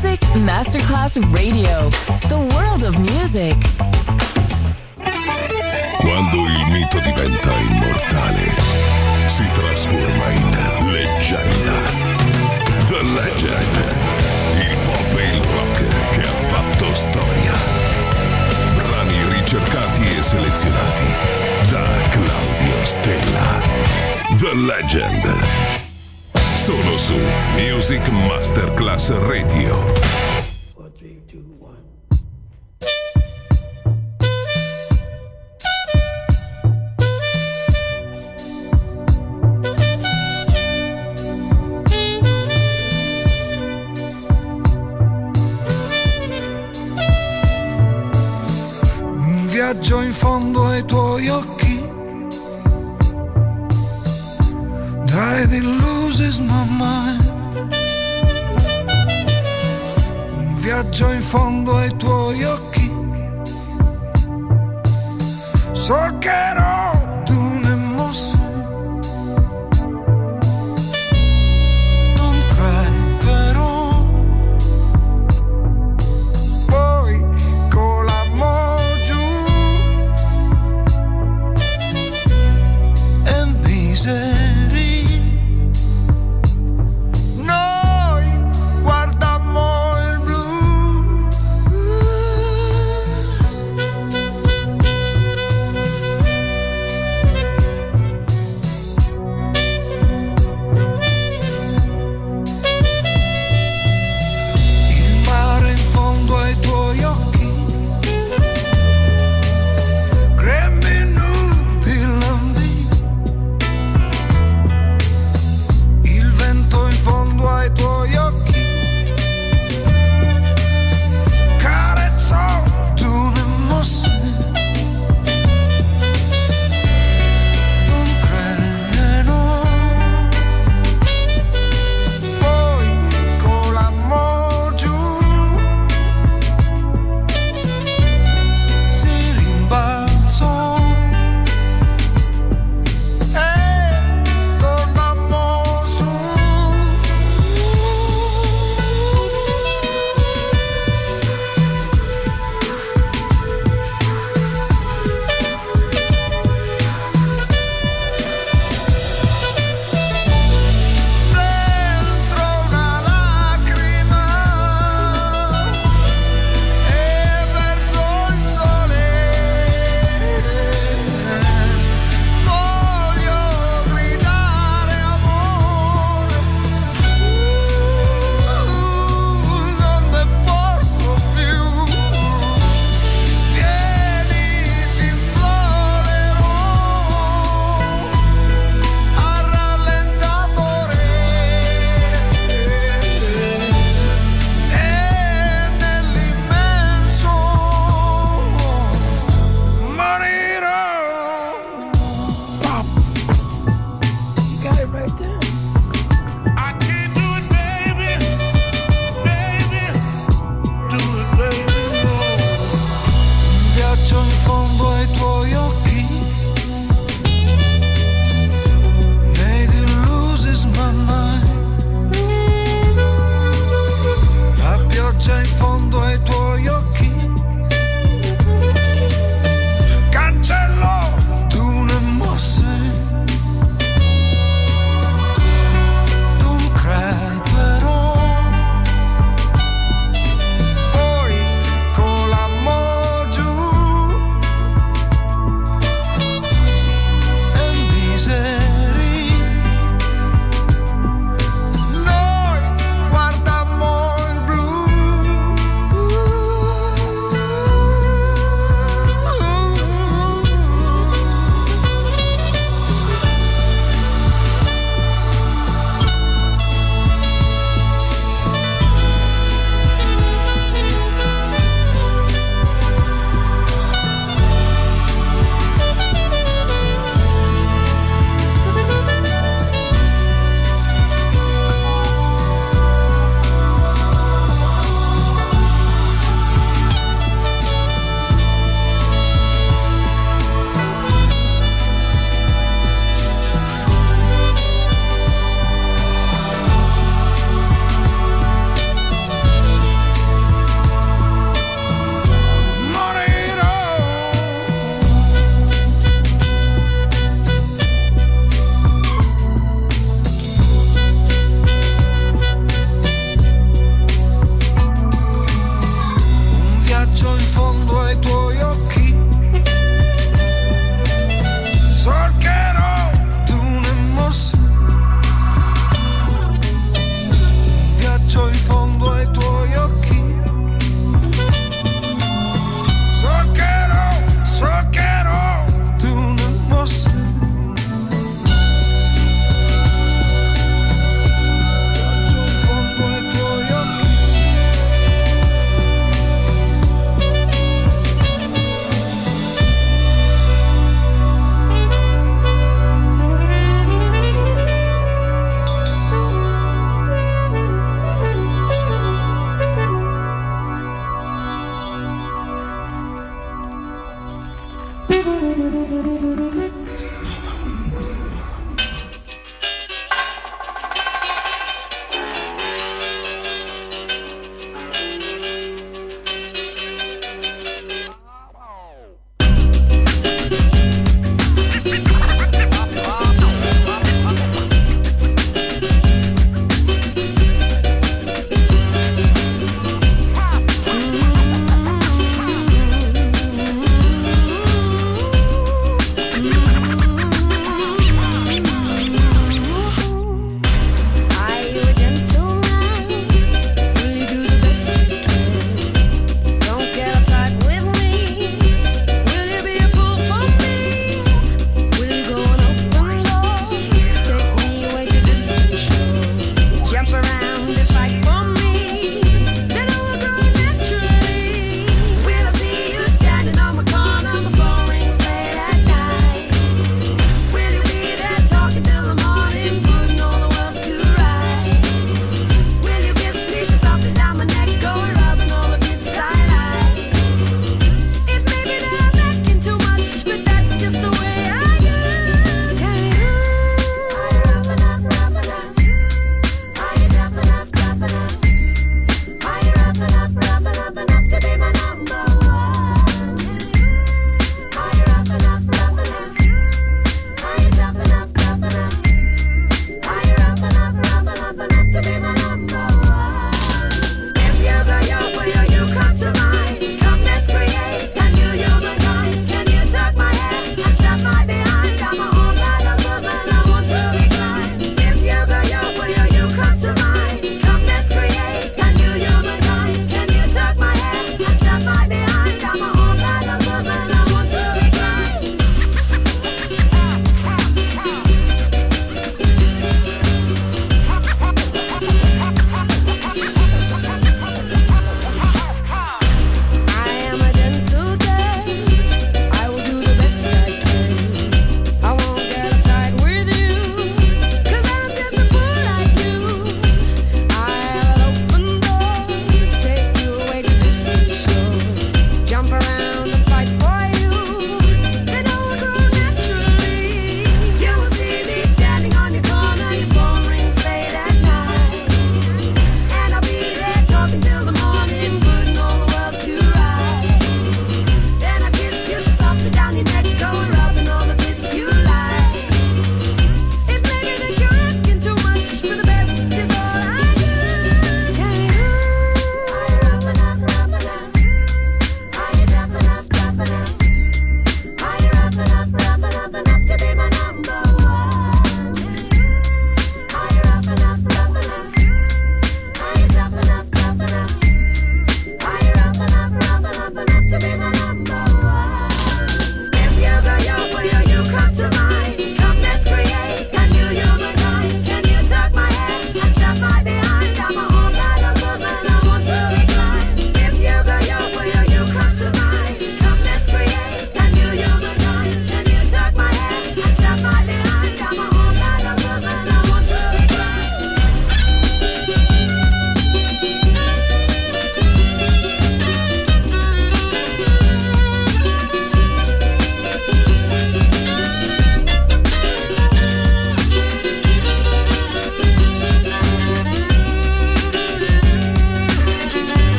Music Masterclass Radio. The world of music. Quando il mito diventa immortale, si trasforma in leggenda. The Legend. Il pop e il rock che ha fatto storia. Brani ricercati e selezionati da Claudio Stella. The Legend. Solo su Music Masterclass Radio. 4, 3, 2, 1. Un viaggio in fondo ai tuoi occhi. Died in loses my mind. Un viaggio in fondo ai tuoi occhi. Solcherò tu ne mosse. Don't cry però. Poi con l'amore giù. E miseria.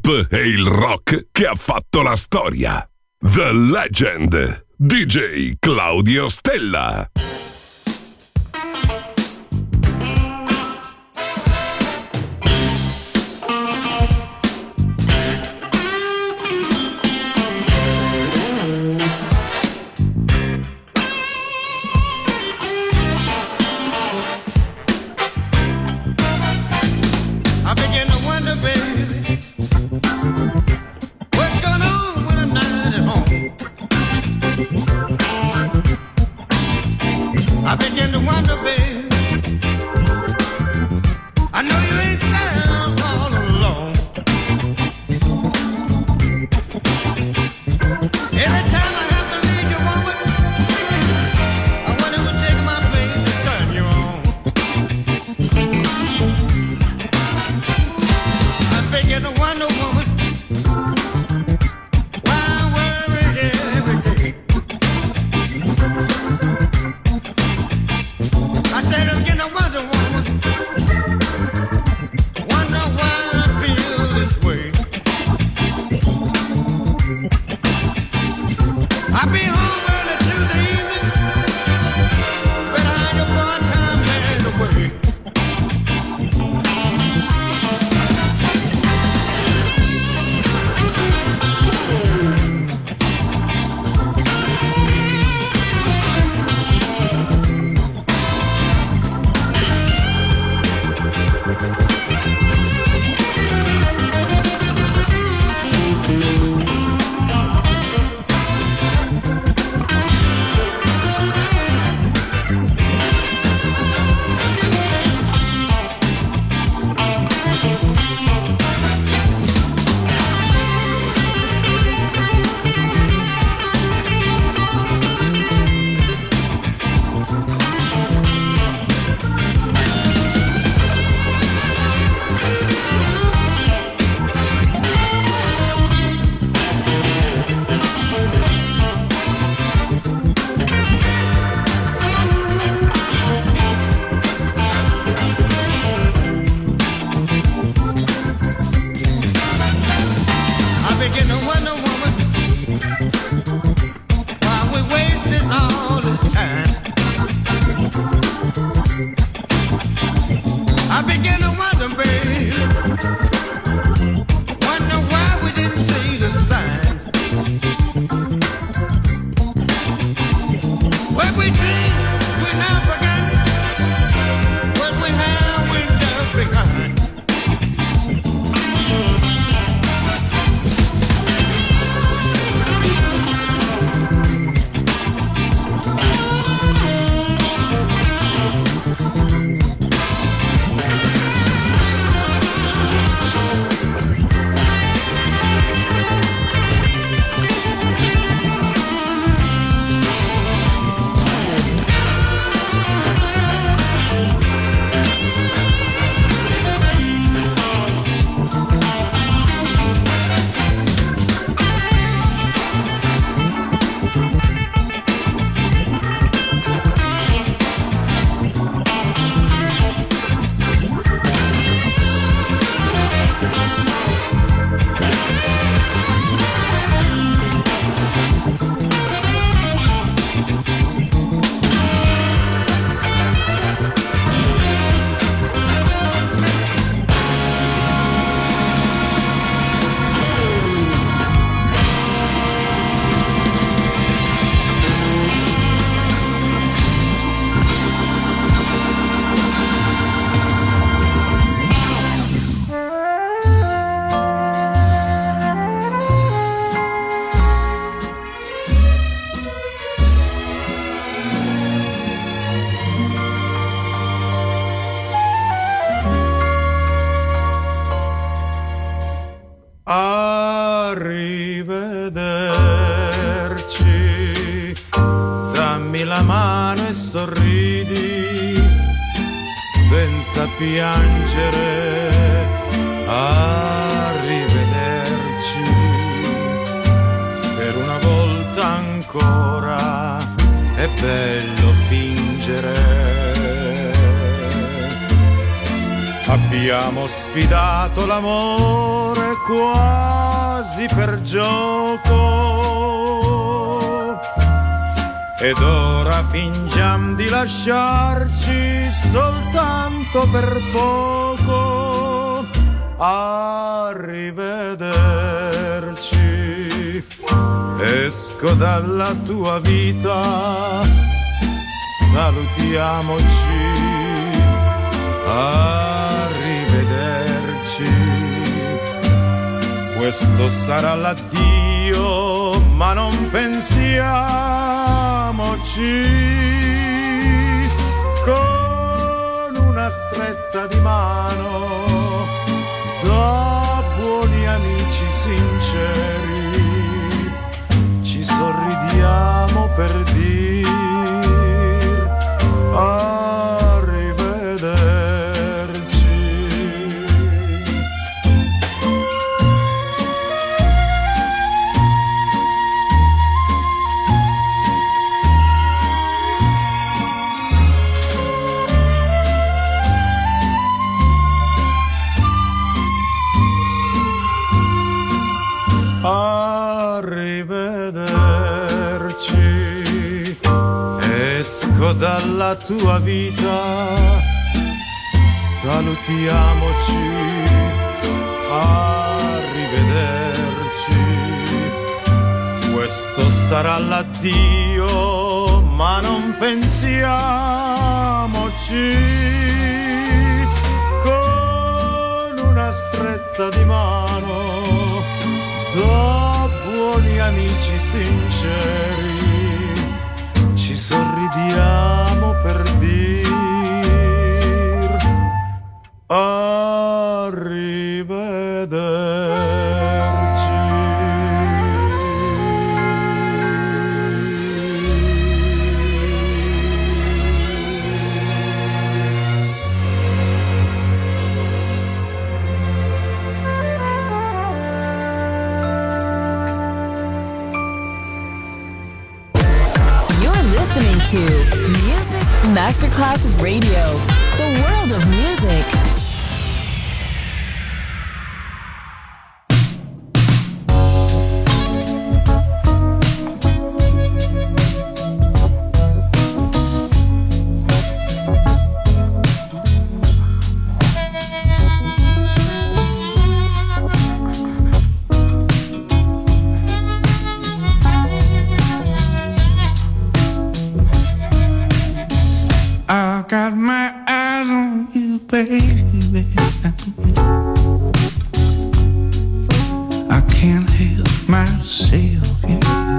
pop e il rock che ha fatto la storia. The Legend, DJ Claudio Stella. I begin to wonder, babe, I know you ain't there all alone. Every time I have to leave you, woman, I wonder who'll take my place and turn you on. I begin to wonder, woman, why I worry every day. I said I'm getting a wonder, woman, wonder why I feel this way. I be home early to the evening, but I ain't a part-time man away. Arrivederci, dammi la mano e sorridi senza piangere. Arrivederci, per una volta ancora è bello fingere. Abbiamo sfidato l'amore quasi per gioco ed ora fingiamo di lasciarci soltanto per poco. Arrivederci, esco dalla tua vita, salutiamoci. Arrivederci, questo sarà l'addio, ma non pensiamoci. Con una stretta di mano, da buoni amici sinceri, ci sorridiamo per dir arrivederci, esco dalla tua vita, salutiamoci. Arrivederci, questo sarà l'addio, ma non pensiamoci. Con una stretta di mano, da buoni amici sinceri, ci sorridiamo per dir arrivederci. Listening to Music Masterclass Radio, the world of music. Got my eyes on you, baby. I can't help myself, yeah.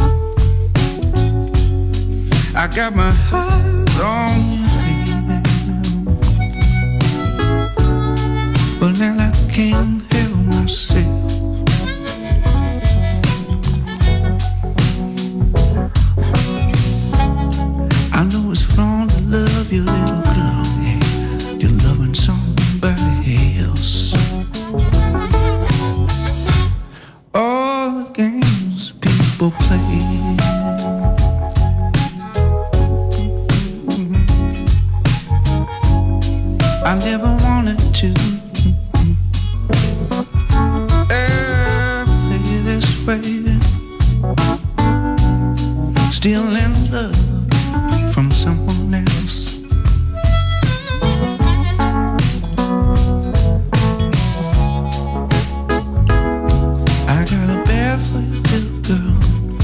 I got my eyes on you, baby. Well, now I can't help myself. I know it's wrong to love you, little girl, yeah. You're loving somebody else. All the games people play, I never wanted to play this way. Still in love from someone else. I got a bed for you, little girl,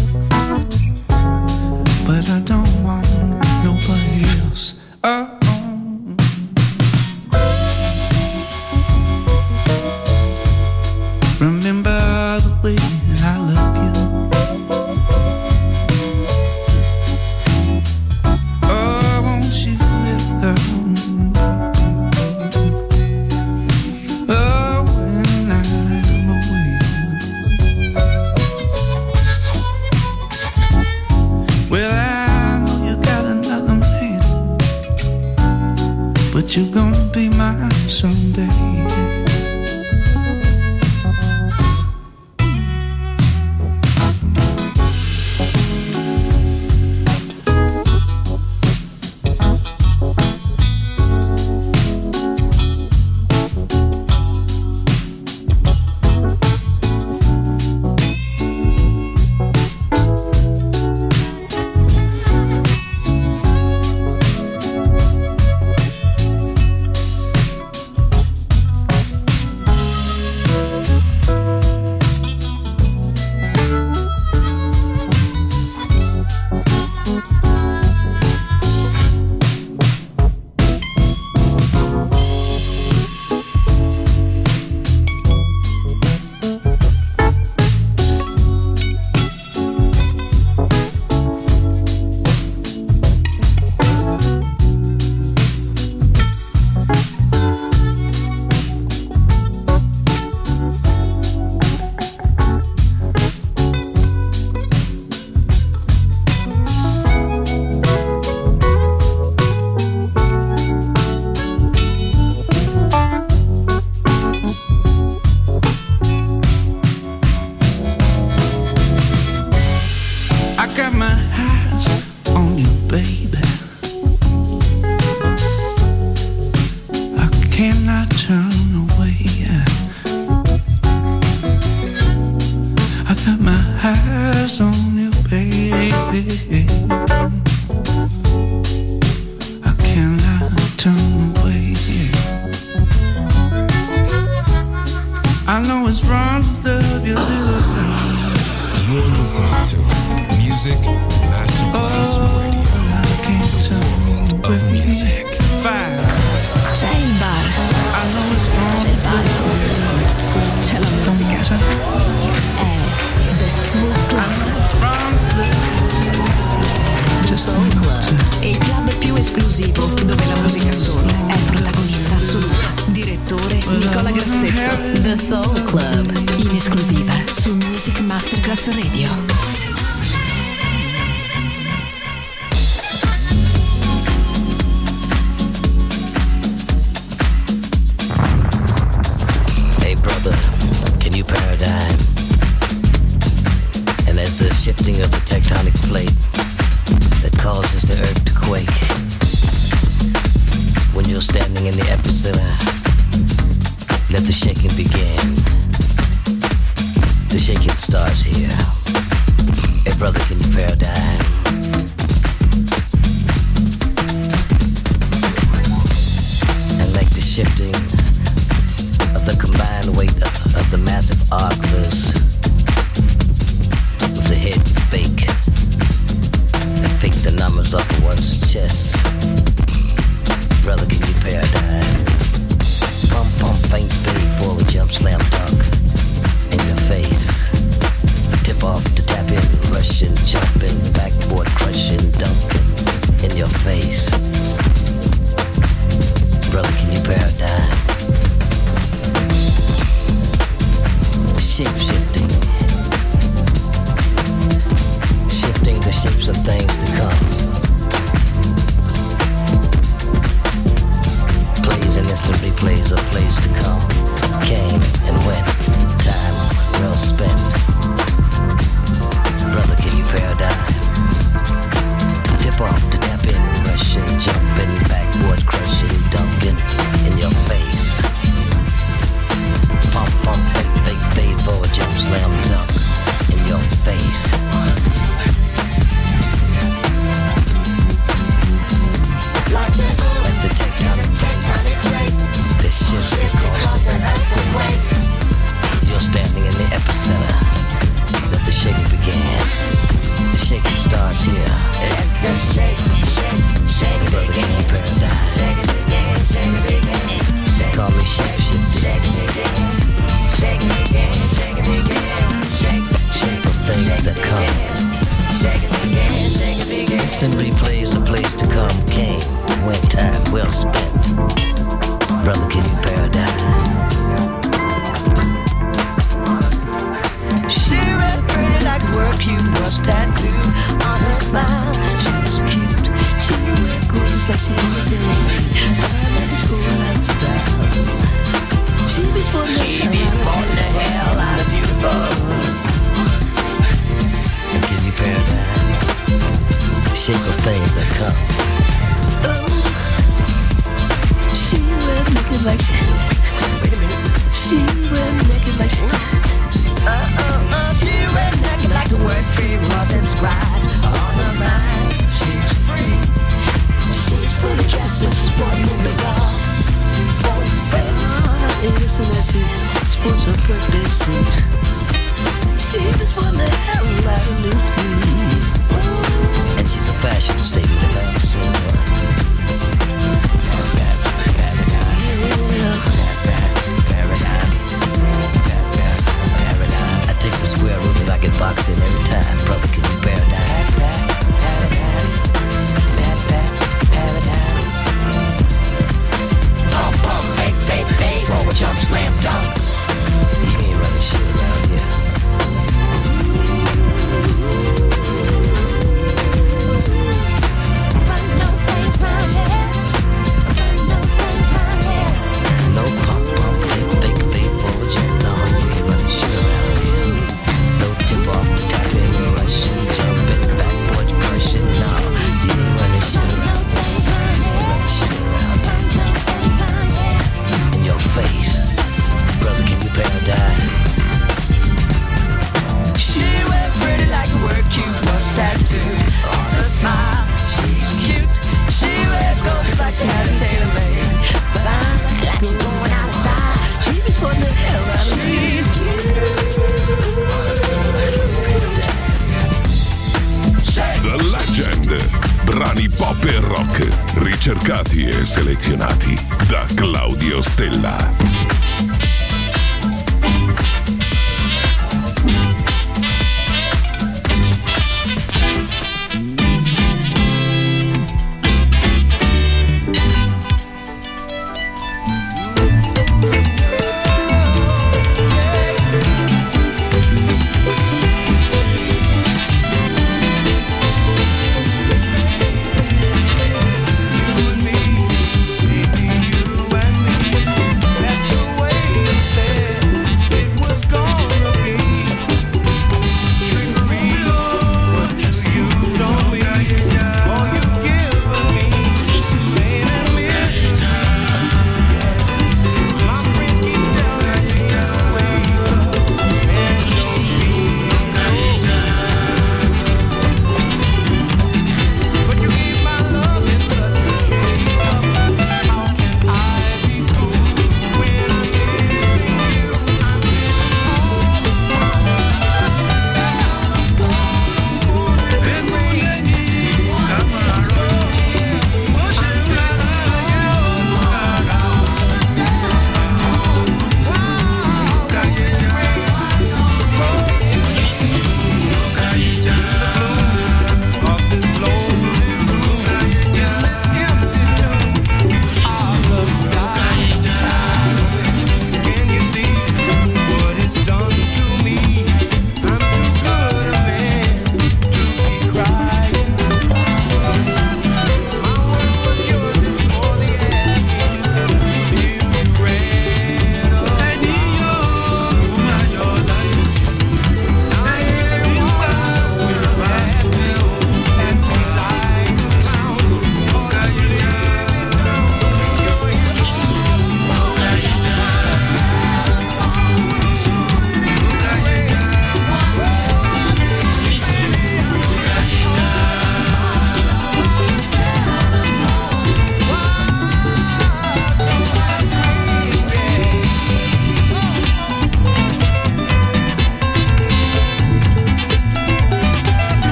but I don't want nobody else. Oh. Remember the way I love you. Oh, won't you, little girl? Oh, when I'm away. Well, I know you got another man, but you're gonna be mine someday. Soul Club, il club più esclusivo dove la musica soul è protagonista assoluta. Direttore Nicola Grassetto. The Soul Club, in esclusiva su Music Masterclass Radio. Paradigm, and as the shifting of the tectonic plate that causes the earth to quake, when you're standing in the epicenter, let the shaking begin. The shaking starts here. Hey brother, can you paradigm? And like the shifting of the combined weight of the massive arclers with the head fake, that fake the numbers off of one's chest. Brother, can you paradigm? Pump, pump, faint, fade, forward, jump, slam, dunk in your face. Tip off to tap in, rushing, jumping, backboard, crushing, dunking in your face. Brother, can you paradigm? Shape-shifting, shifting the shapes of things to come. Plays and instant replays of plays to come. Came and went, time well spent. Brother, can you paradigm? Tip off to tap in, rushing, jumping, backward, crushing, dunking in your face. Pump, pump, fade, forward, jump, slam, dunk in your face. Like the tectonic plate, this shifts because the earth quake. You're standing in the epicenter. Let the shaking begin. The shaking starts here. Let the shake brother, can you paradigm? Shake it again, shake it again. Call me shape-shifting. Shake it again. Shake it again, shake it again, shape of things that come. Shake it again, shake it again. Instant replays of plays to come. Came, went, time well spent. Brother, can you paradigm? She read pretty like a work cute was tattooed on her smile. She's cute, she wear goodies like she in the day. I like it's cool and style. She be sporting the hell out of beautiful. Can you paradigm? Shape of things that come. Oh, she wears naked like she. Wait a minute. She wears naked like she. She wears naked like the word free was inscribed on her mind. She's free. She's fully dressed and she's walking in the wall. So innocent as she sports her birthday suit. She just won the hell out of Lucy. And she's a fashion statement if I ever seen one. I take the square root and I get boxed in every time. Brother, can you paradigm? Pump, pump, fake, forward, jump, slam, dunk. You ain't running shit around here. No pump, fake, forward, jump, no, you ain't running shit around here. No tip off to tap in, rushing, jumping, backward, crushing, no, you ain't running shit around here. In your face, brother, can you paradigm? She wears pretty like a word cute was tattooed on her smile. She's cute. She wears gold just like she had a tailor-made. Fine, like she's going out of style. She be putting the hell out of me. She's cute. The Legend. Brani pop e rock, ricercati e selezionati da Claudio Stella.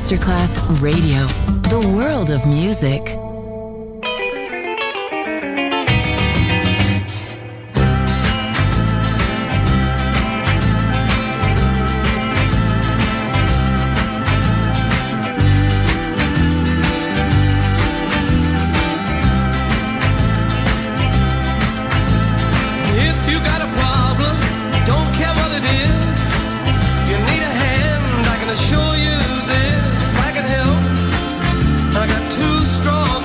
Masterclass Radio. The world of music. Show you this, I can help. I got two strong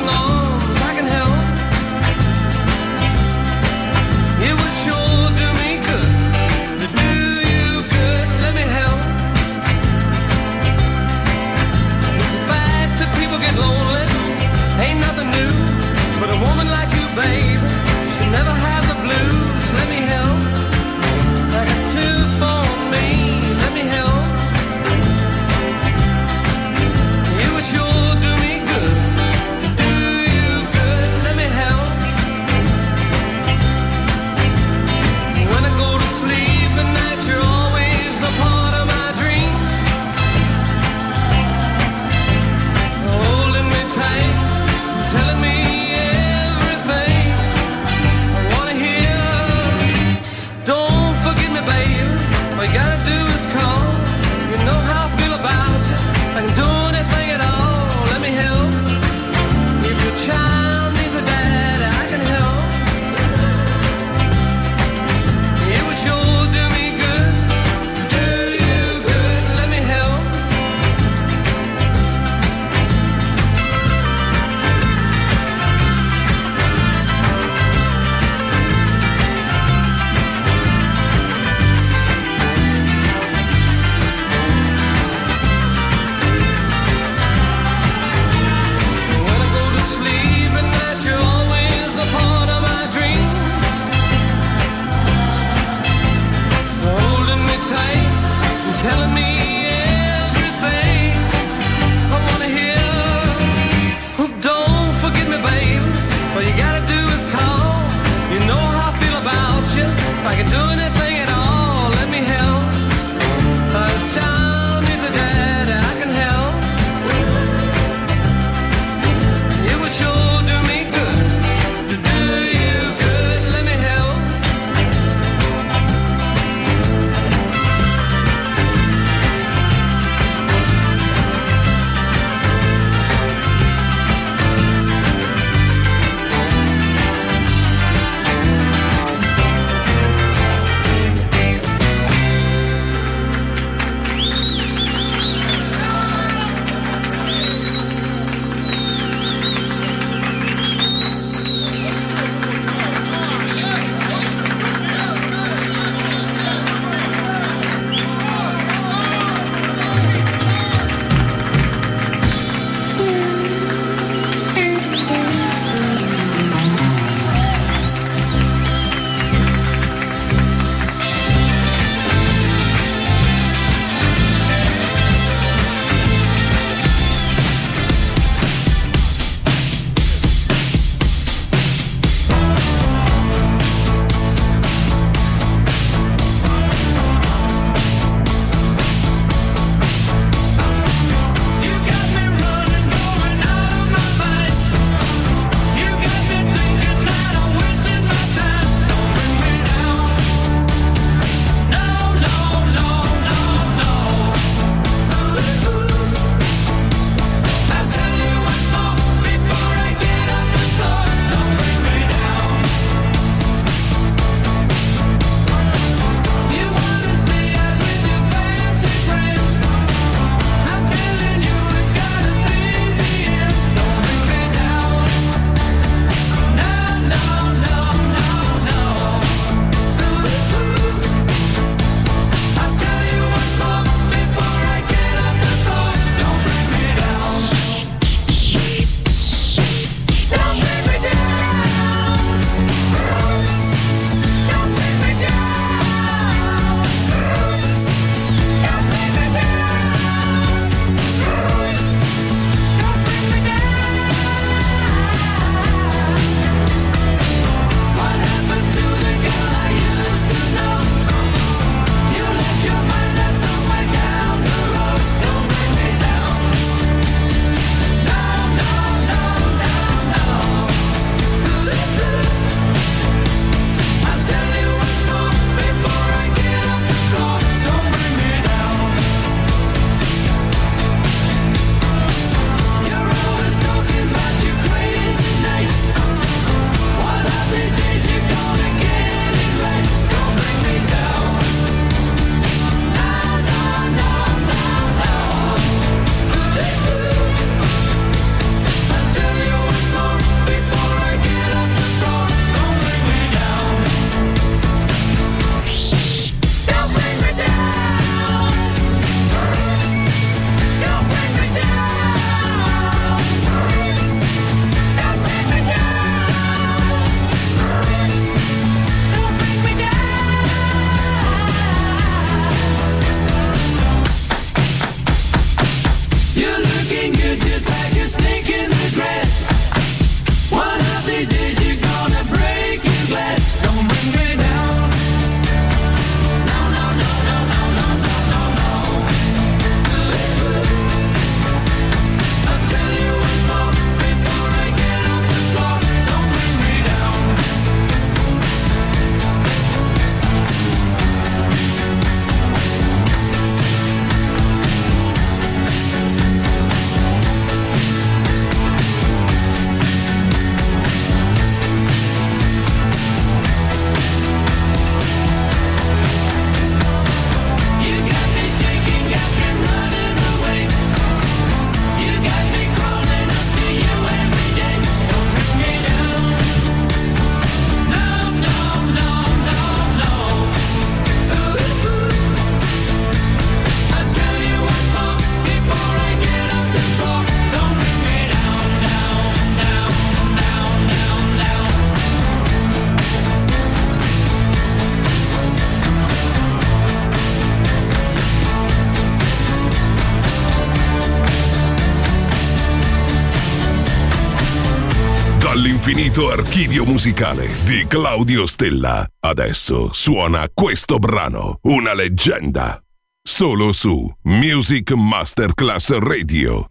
L'infinito archivio musicale di Claudio Stella. Adesso suona questo brano, una leggenda. Solo su Music Masterclass Radio.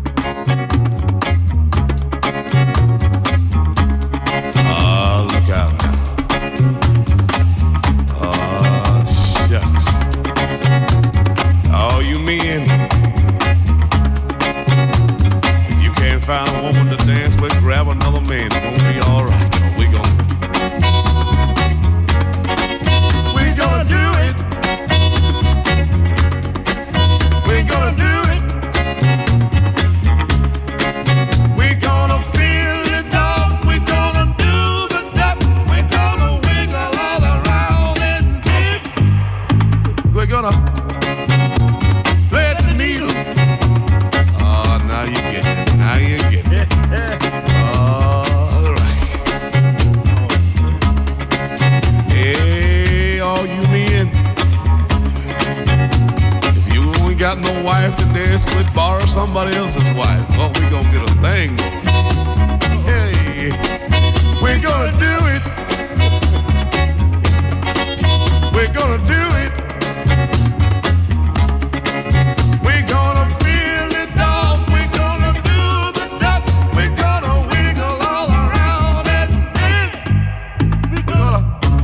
Look out now. Oh, shucks. Oh, you men. If you can't find a woman to dance with, grab another man. It's gonna be all right. We're gonna do it. We're gonna do it. We're gonna feel it, dog. We're gonna do the duck. We're gonna wiggle all around and dip. We're gonna thread the needle. Oh, now you get it. Now you get it. All right. Hey, all you men. If you ain't got no wife to dance with, borrow somebody else's wife. Oh, we gonna get a thing going. Hey, we're gonna do it. We're gonna do it. We're gonna feel it, dog. We're gonna do the duck. We're gonna wiggle all around and then we're gonna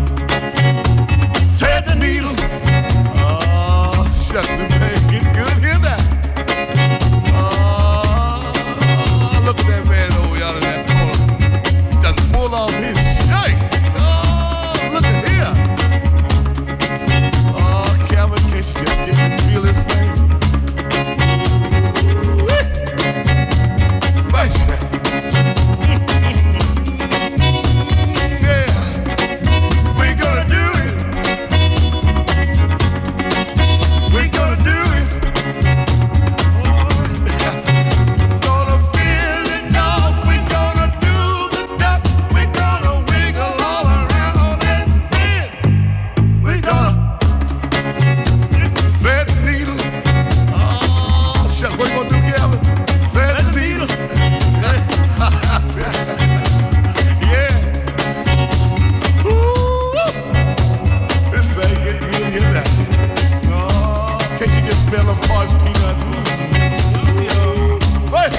thread the needle. Oh, shucks, this thing getting good here now. Oh, look at that man over yonder in that corner. Done pulled off his shirt. Oh, look at here. Oh, Calvin, can't you just get me to feel this thing? Woo-wee. Nice shot. Yeah, we're gonna do it. We're gonna do it. Gonna feel it, dog. We're gonna do the duck. We're gonna wiggle all around and then we're gonna thread the needle. Oh, shucks, what you gonna do, Calvin? Thread the needle. Yeah. Ooh, this thing getting good here now. Oh, can't you just smell them parched peanuts? What?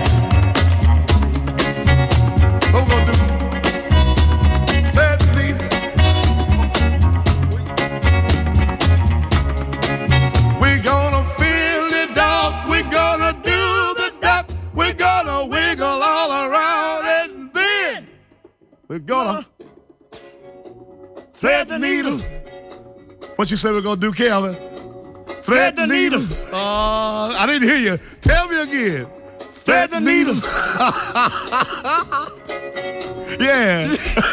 What we gonna do? Thread the needle. We're gonna feel it, dog. We're gonna do the duck. We're gonna wiggle all around and then we're gonna thread the needle. What you say we're gonna do, Calvin? Thread the needle. I didn't hear you. Tell me again. Thread the needle. Yeah.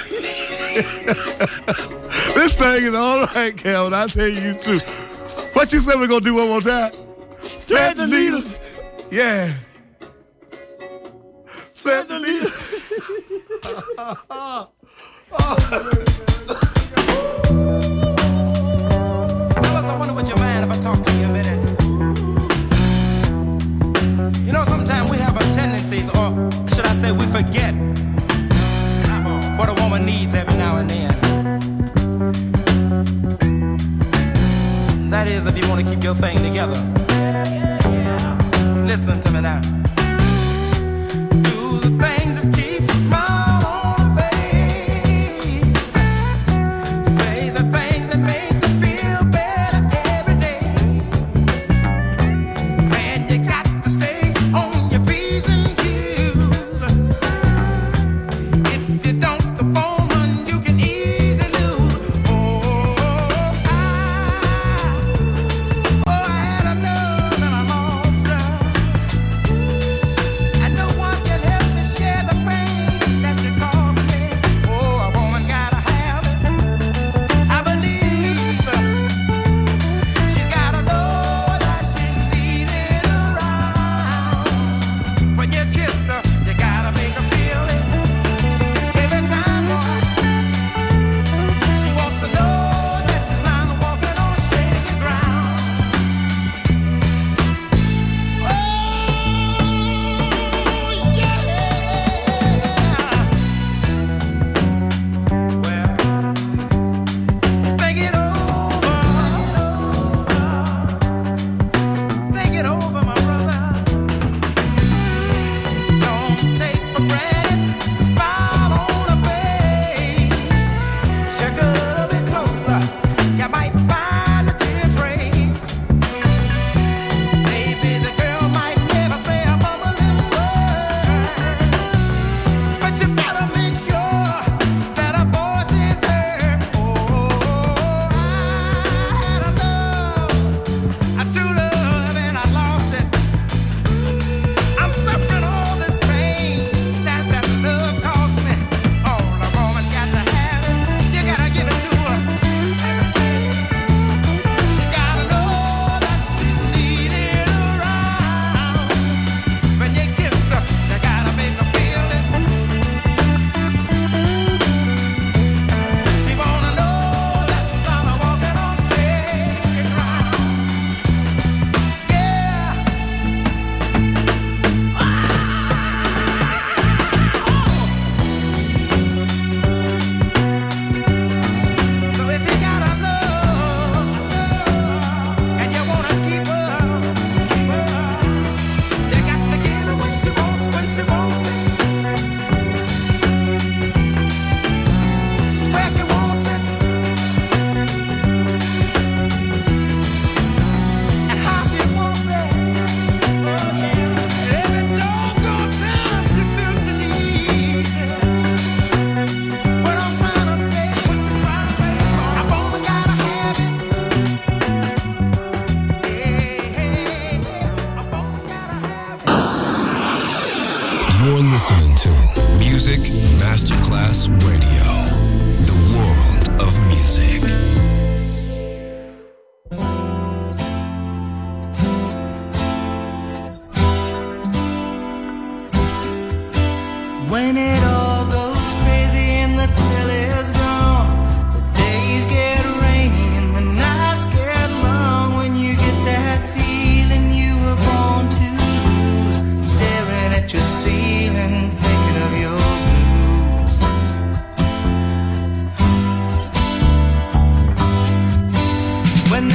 This thing is all right, Calvin. I tell you true. What you say we're gonna do one more time? Thread the needle. Yeah. Thread the needle. Fellas, I wonder what you mind if I talk to you a minute. You know, sometimes we have a tendencies, or should I say we forget what a woman needs every now and then. That is, if you want to keep your thing together. Listen to me now. Do the things that keeps a smile on her face. Say the things that make you feel better every day. And you got to stay on your P's and Q's. If you don't, the woman you can easily lose. I had enough and I lost her.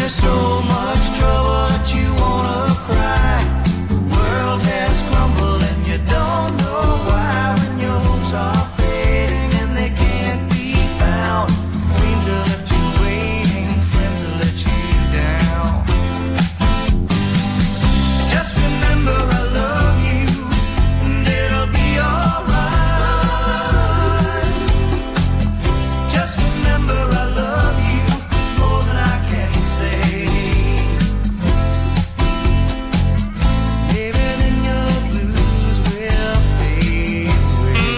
there's so much trouble that you wanna cry. The world has crumbled and you don't know why. When your hopes are fading and they can't be found, dreams are left you waiting, friends will let you down. Just remember I love you and it'll be alright. Just remember I love you more than I can say. Even in your blues will fade away.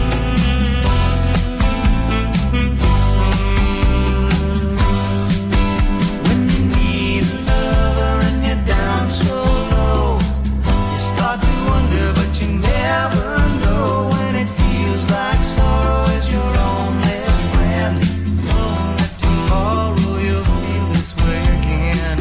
When you need a lover and you're down so low, you start to wonder but you never know. When it feels like sorrow is your only friend, knowing that tomorrow you'll feel this way again.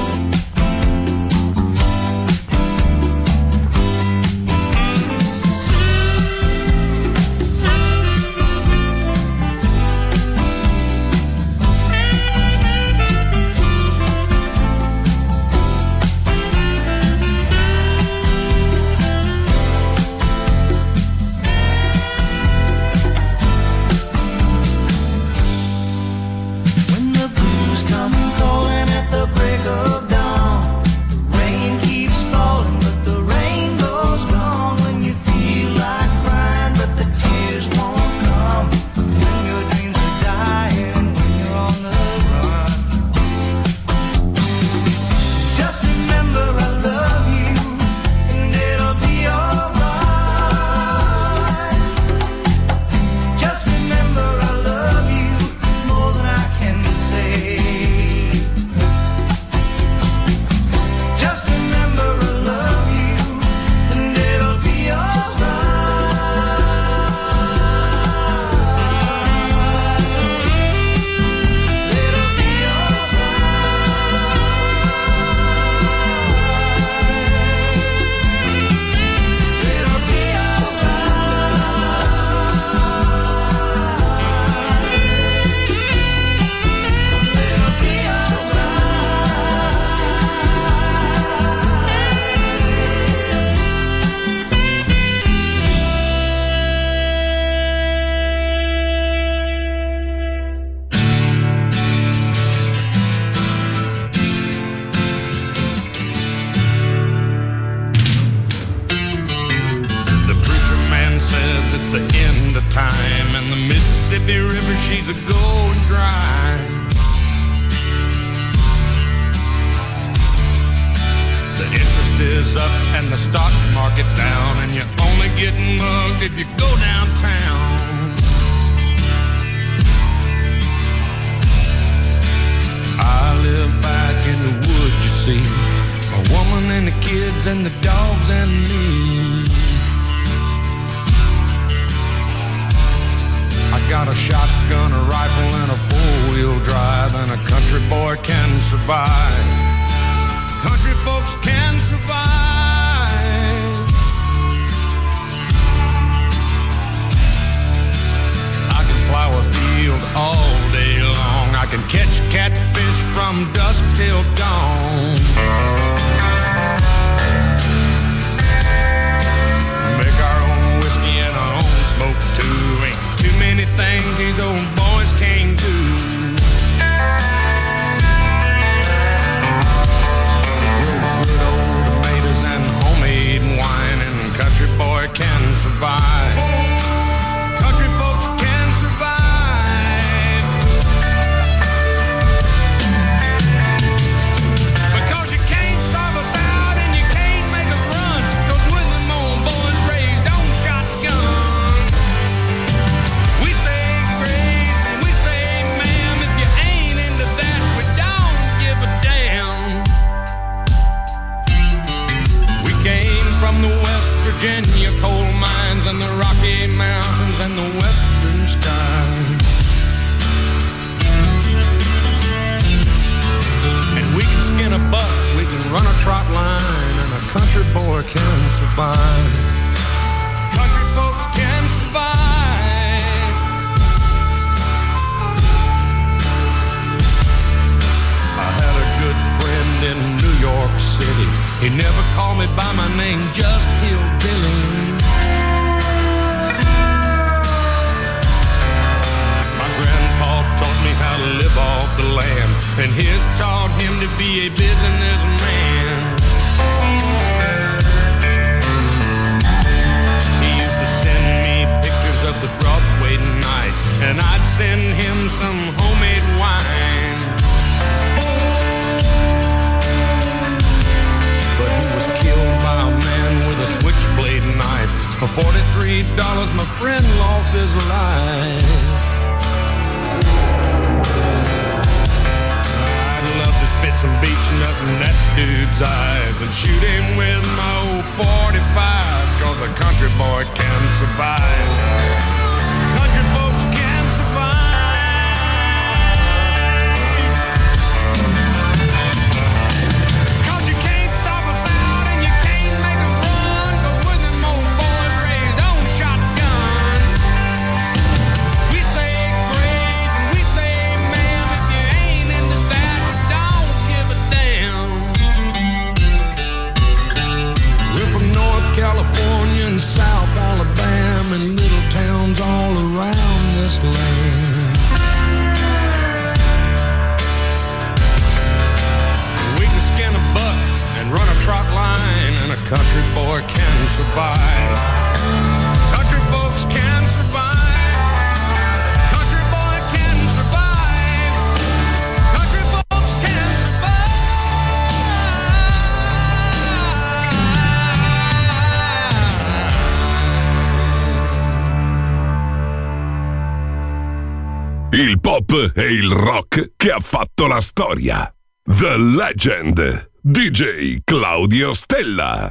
When the blues come calling at the break of dawn, the rain keeps falling but the rainbow's gone. When you feel like crying but the tears won't come, when your dreams are dying, when you're on the run. Just remember I love you and it'll be alright. Just remember I love you more than I can say. Just remember I love you and it'll be alright. It'll be alright. It'll be The preacher man says it's the end of time, and the Mississippi River, she's a going dry. The interest is up and the stock market's down, and you're only getting mugged if you go downtown. I live back in the woods, you see, a woman and the kids and the dogs and me. I got a shotgun, a rifle, and a four-wheel drive, and a country boy can survive. Country folks can survive. I can plow a field all day long. I can catch catfish from dusk till dawn. Make our own whiskey and our own smoke too. Ain't too many things these old boys can't do. Grow good old tomatoes and homemade wine, and country boy can survive. Country folks can survive. Because you can't starve us out and you can't make us run. 'Cause with them old boys raised on shotguns, we say grace and we say ma'am. If you ain't into that, we don't give a damn. We came from the West Virginia coal mines and the Rocky Mountains and the western skies. And we can skin a buck, we can run a trot line, and a country boy can survive. Country folks can survive. I had a and his taught him to be a businessman. He used to send me pictures of the Broadway nights, and I'd send him some homemade wine. But he was killed by a man with a switchblade knife. For $43, my friend lost his life. I'd love to spit some beach nut in that dude's eyes and shoot him with my old 45, 'cause a country boy can survive. Country folks can survive. California and South Alabama and little towns all around this land. We can skin a buck and run a trot line, and a country boy can survive. Country folks can survive. Country boy can survive. Country folks can survive. Il pop e il rock che ha fatto la storia. The Legend, DJ Claudio Stella.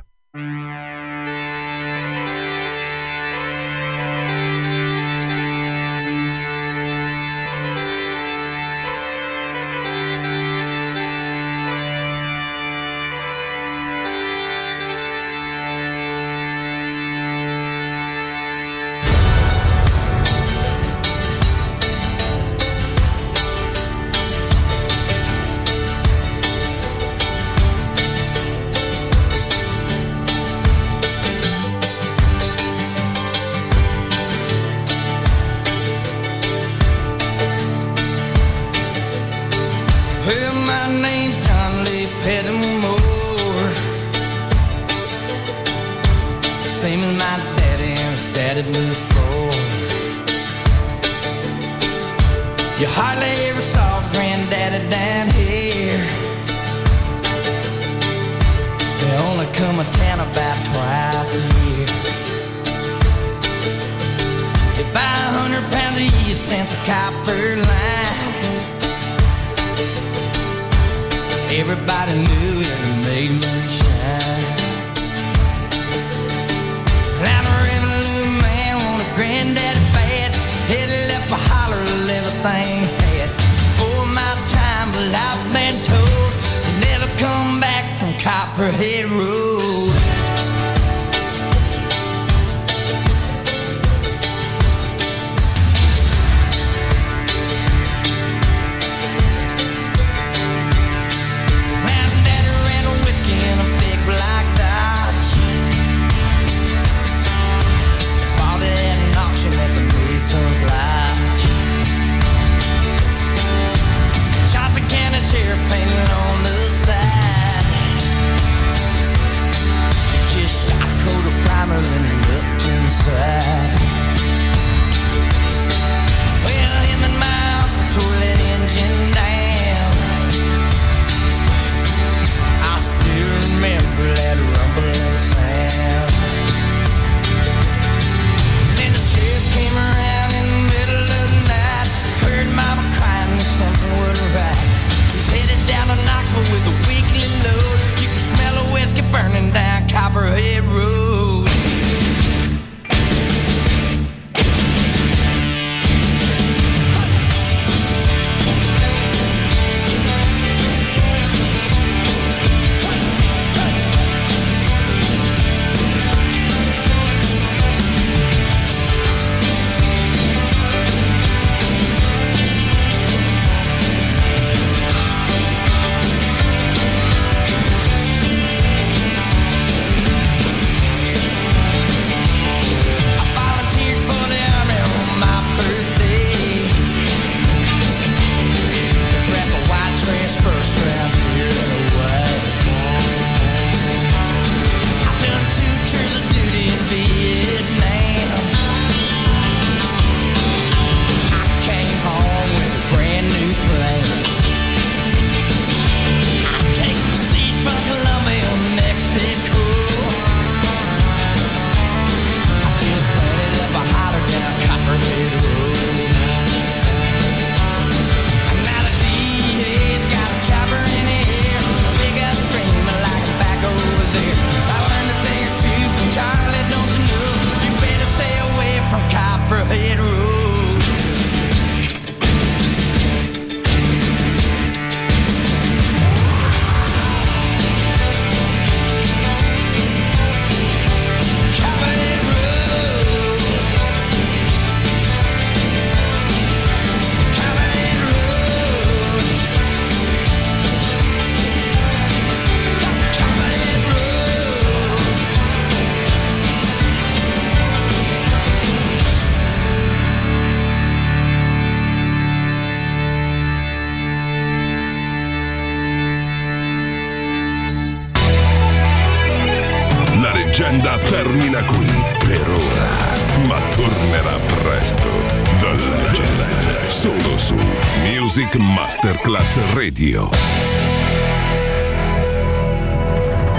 Well, my name's John Lee Pettimore, same as my daddy and his daddy before. You hardly ever saw Granddaddy down here. They only come to town about twice a year. They buy 100 pounds of yeast and some copper line. Everybody knew that it made moonshine. I'm a revenue man, want a granddaddy bad. Head left a holler of everything had. For my time, but I've been told to never come back from Copperhead Road. Black Dodge, bought it at an auction at the Mason's Lodge. Johnson County Sheriff painted on the side. leggenda termina qui per ora, ma tornerà presto. The Legend, solo su Music Masterclass Radio.